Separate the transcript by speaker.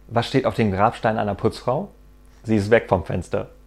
Speaker 1: Was steht auf dem Grabstein einer Putzfrau? Sie ist weg vom Fenster.